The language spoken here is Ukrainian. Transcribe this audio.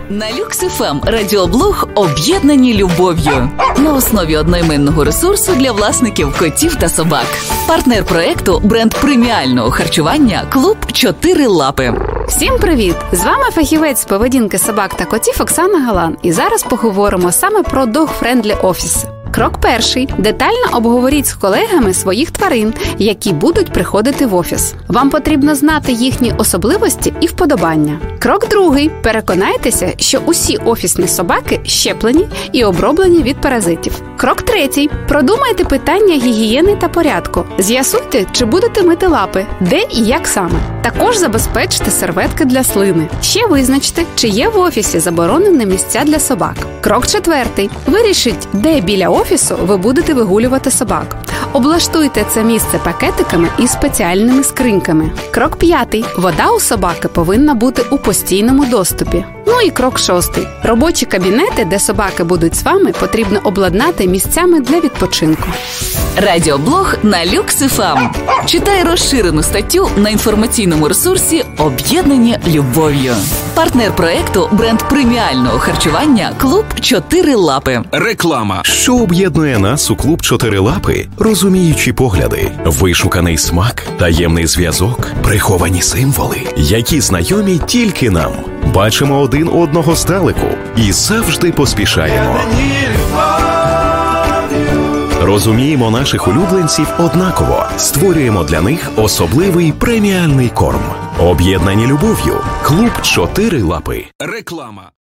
На Люкс ФМ радіоблог «Об'єднані любов'ю» на основі одноіменного ресурсу для власників котів та собак. Партнер проекту – бренд преміального харчування «Клуб 4 лапи». Всім привіт! З вами фахівець з поведінки собак та котів Оксана Галан. І зараз поговоримо саме про dog-friendly офіси. Крок перший. Детально обговоріть з колегами своїх тварин, які будуть приходити в офіс. Вам потрібно знати їхні особливості і вподобання. Крок другий. Переконайтеся, що усі офісні собаки щеплені і оброблені від паразитів. Крок третій. Продумайте питання гігієни та порядку. З'ясуйте, чи будете мити лапи, де і як саме. Також забезпечте серветки для слини. Ще визначте, чи є в офісі заборонені місця для собак. Крок четвертий. Вирішіть, де біля офісу ви будете вигулювати собак. Облаштуйте це місце пакетиками і спеціальними скриньками. Крок п'ятий. Вода у собаки повинна бути у постійному доступі. Ну і крок шостий. Робочі кабінети, де собаки будуть з вами, потрібно обладнати місцями для відпочинку. Радіоблог на Люкс ФМ. Читай розширену статтю на інформаційному ресурсі «Об'єднані любов'ю». Партнер проекту – бренд преміального харчування «Клуб 4 лапи». Реклама. Що об'єднує нас у «Клуб 4 лапи»? Розуміючі погляди, вишуканий смак, таємний зв'язок, приховані символи, які знайомі тільки нам. Бачимо один одного здалеку і завжди поспішаємо. Розуміємо наших улюбленців однаково. Створюємо для них особливий преміальний корм. Об'єднані любов'ю. Клуб 4 лапи. Реклама.